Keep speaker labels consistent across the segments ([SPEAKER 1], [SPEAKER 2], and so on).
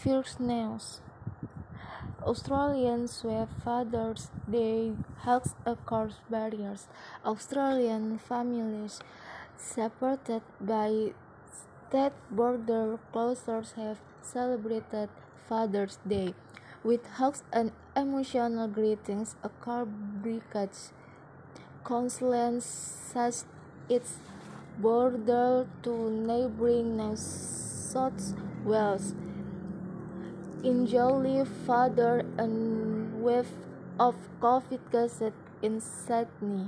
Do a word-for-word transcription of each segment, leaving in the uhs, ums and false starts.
[SPEAKER 1] First news. Australian sweep Father's Day hugs across barriers. Australian families separated by state border closures have celebrated Father's Day with hugs and emotional greetings across bridges. Queensland such its border to neighbouring New South Wales. In July, father and wave of COVID cases in Sydney.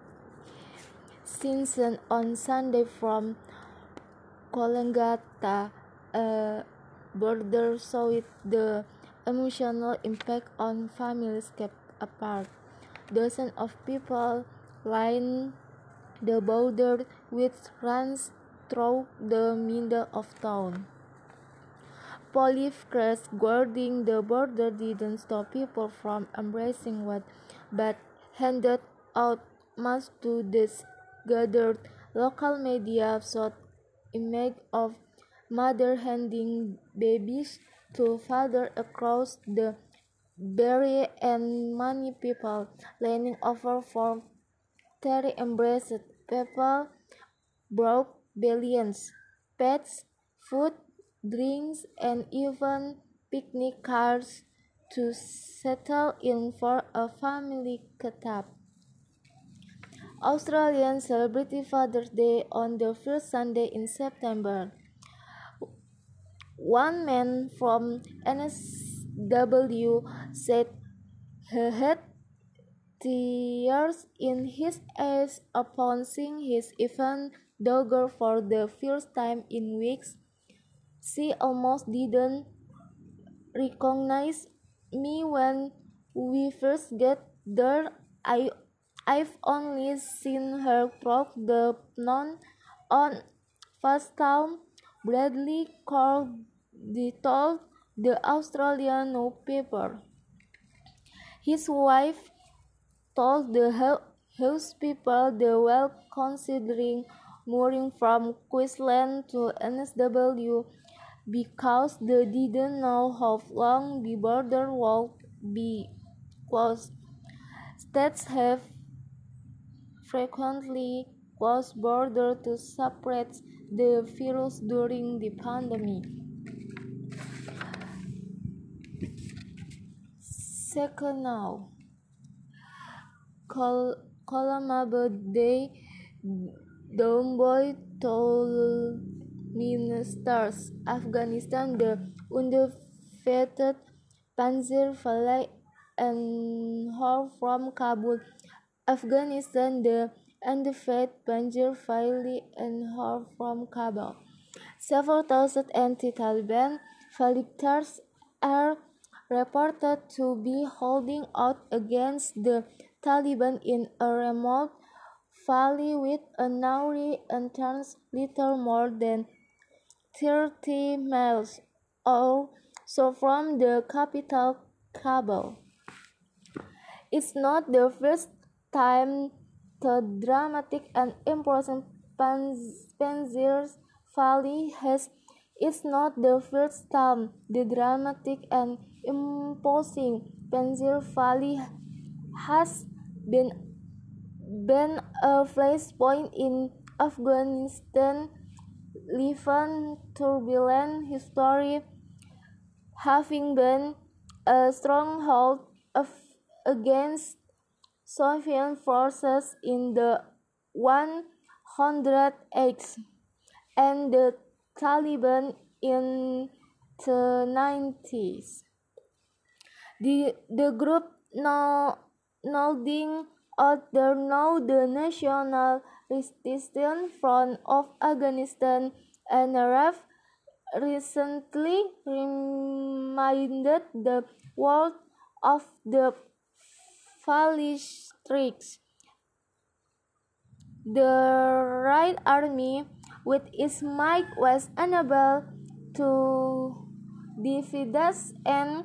[SPEAKER 1] Simpson on Sunday from Coolangatta, a border showed the emotional impact on families kept apart. Dozens of people lined the border with runs through the middle of town. Police crews guarding the border didn't stop people from embracing what, but handed out masks to those gathered. Local media showed images of mothers handing babies to fathers across the barrier and many people leaning over for tender embraces. People brought billions, pets, food, drinks, and even picnic cards to settle in for a family catch-up. Australians celebrate Father's Day on the first Sunday in September. One man from N S W said he had tears in his eyes upon seeing his infant daughter for the first time in weeks. She almost didn't recognize me when we first got there. I, I've only seen her through the pond on Fastown, Bradley Cordy told the Australian newspaper. His wife told the house people they were considering moving from Queensland to N S W because they didn't know how long the border would be closed. States have frequently closed borders to separate the virus during the pandemic. Second now. Col- Colombo Day, Domboy told ministers Afghanistan, the undefeated Panzer Valley and Hor from Kabul. Afghanistan, the undefeated Panzer Valley and Hor from Kabul. Several thousand anti-Taliban fighters are reported to be holding out against the Taliban in a remote valley with a narrow entrance little more than thirty miles or so from the capital, Kabul. It's not the first time the dramatic and imposing Panzer Valley has. It's not the first time the dramatic and imposing Panzer Valley has been, been a flashpoint in Afghanistan living turbulent history, having been a stronghold of, against Soviet forces in the eighties and the Taliban in the nineties. The, the group now nodding out there now the National Resistance Front of Afghanistan N R F recently reminded the world of the Valley tricks. The Right Army, with its might, was unable to defeat us, and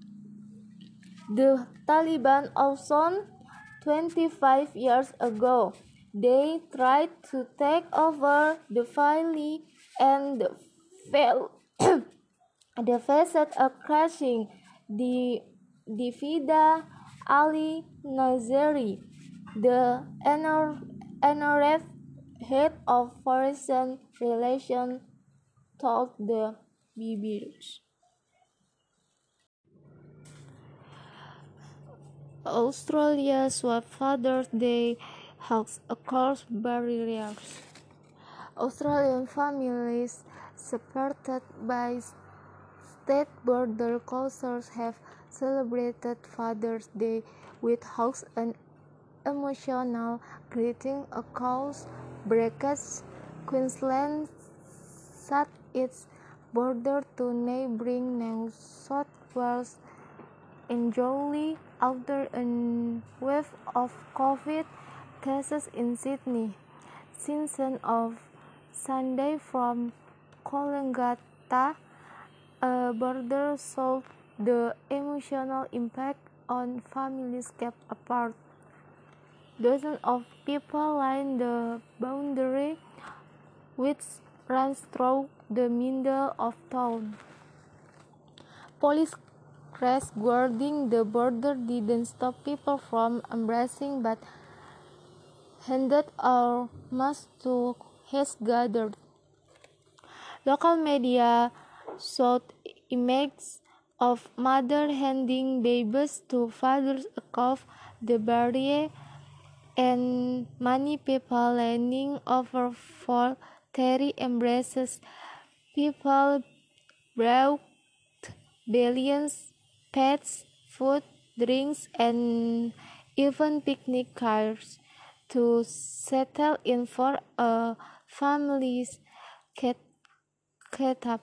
[SPEAKER 1] the Taliban also twenty-five years ago. They tried to take over the valley and failed. They faced a crashing the Divida Ali Nazari, the N R F head of foreign relations, told the B B C. Australia's Father's Day hugs across barriers. Australian families supported by state border closures have celebrated Father's Day with hugs and emotional greeting across brackets. Queensland shut its border to neighbouring New South Wales entirely after a wave of COVID cases in Sydney. Since of Sunday from Coolangatta, a border showed the emotional impact on families kept apart. Dozens of people line the boundary, which runs through the middle of town. Police crews guarding the border didn't stop people from embracing but handed out masks to heads gathered. Local media showed images of mothers handing babies to fathers across the barrier and many people leaning over for teary embraces. People brought billions, pets, food, drinks, and even picnic cars to settle in for a family's get-up.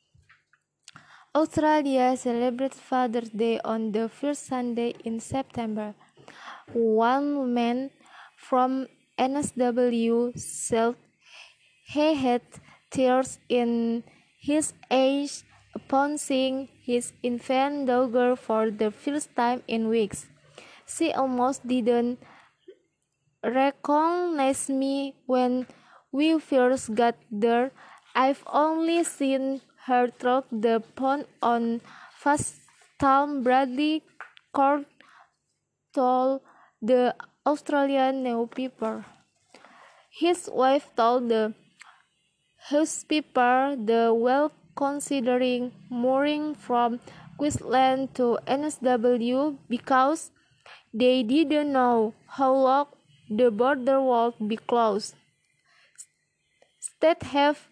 [SPEAKER 1] Australia celebrates Father's Day on the first Sunday in September. One man from N S W said he had tears in his eyes upon seeing his infant daughter for the first time in weeks. She almost didn't recognize me when we first got there. I've only seen her through the pond on FaceTime, Bradley Court told the Australian newspaper. His wife told the newspaper the well considering moving from Queensland to N S W because they didn't know how long the border would be closed. States have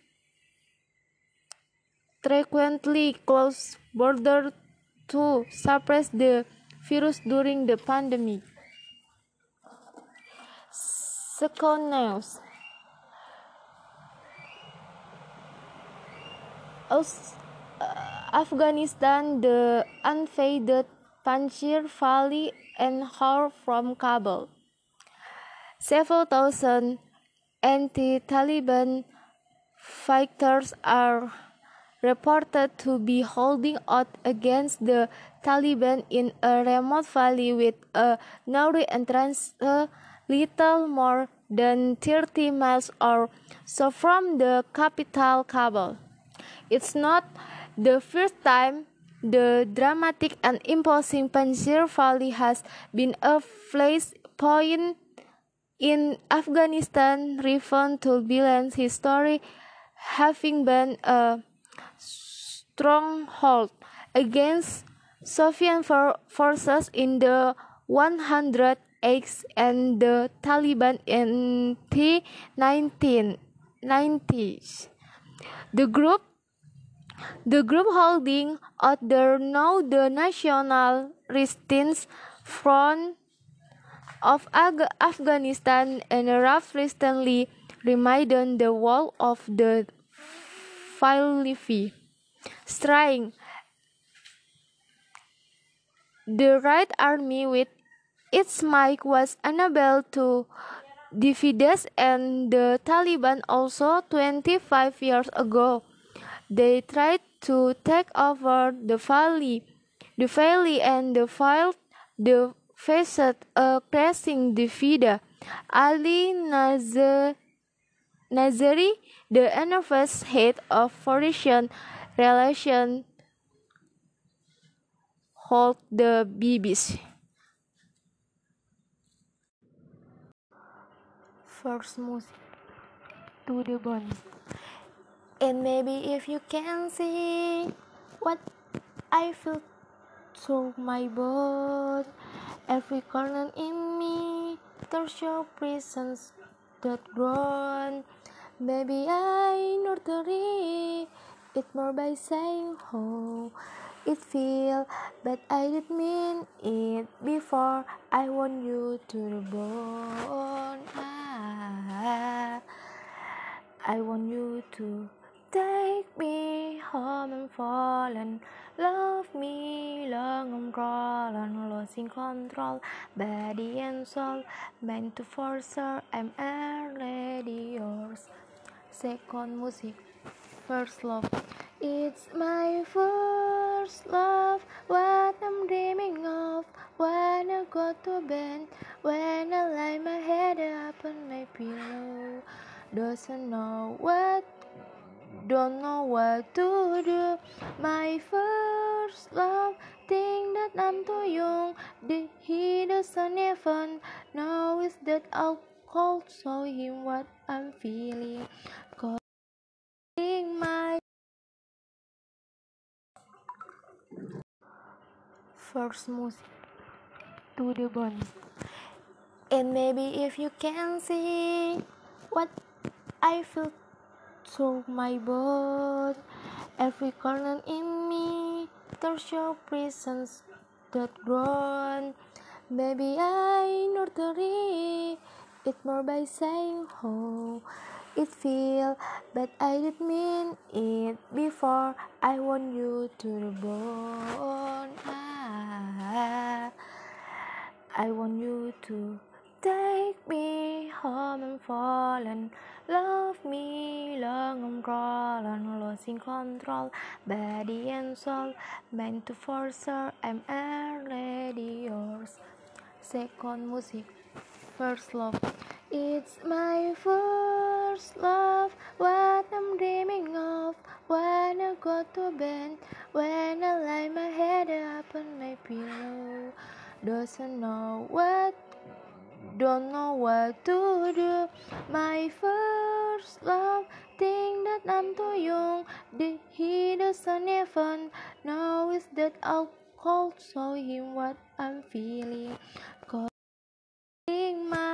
[SPEAKER 1] frequently closed borders to suppress the virus during the pandemic. Second news. Aus- Afghanistan, the invaded Panjshir Valley and Har from Kabul. Several thousand anti-Taliban fighters are reported to be holding out against the Taliban in a remote valley with a narrow entrance a little more than thirty miles or so from the capital Kabul. It's not the first time the dramatic and imposing Panjshir Valley has been a flashpoint in Afghanistan driven turbulent history, having been a stronghold against Soviet for- forces in the eighties and the Taliban in the nineteen nineties. The group The group holding out there now the National Resistance Front of Ag- Afghanistan and Raf recently reminded the wall of the Filifi, straying the Right Army with its might was unable to defeat us and the Taliban also twenty-five years ago. They tried to take over the valley, the valley and the field the faced a crashing defeat. Ali Nazar, Nazari, the N F S head of foreign relations, hold the babies. First music to the bone. And maybe if you can see what I feel through my bones, every corner in me, there's your presence that grown. Maybe I nurture it more by saying how it feel, but I didn't mean it before. I want you to the bone. Ah, I want you to take me home and fall and love me long and crawl and losing control, body and soul, meant to force her. I'm already yours. Second music, first love. It's my first love, what I'm dreaming of. When I go to bed, when I lay my head up on my pillow, doesn't know what, don't know what to do. My first love, think that I'm too young. Did he doesn't even know is that I'll call show him what I'm feeling. Calling my first music to the bone. And maybe if you can see what I feel through my bones, every corner in me, there's your presence that grown. Maybe I nurture it more by saying how it feel, but I didn't mean it before. I want you to the bone. Ah, I want you to take me home and fall and love me long and crawl and losing control, body and soul, meant to force her. I'm already yours. Second music, first love. It's my first love, what I'm dreaming of. When I go to bed, when I lay my head up on my pillow, doesn't know what, don't know what to do. My first love, think that I'm too young. Did he doesn't even know is that I'll call show him what I'm feeling. Calling my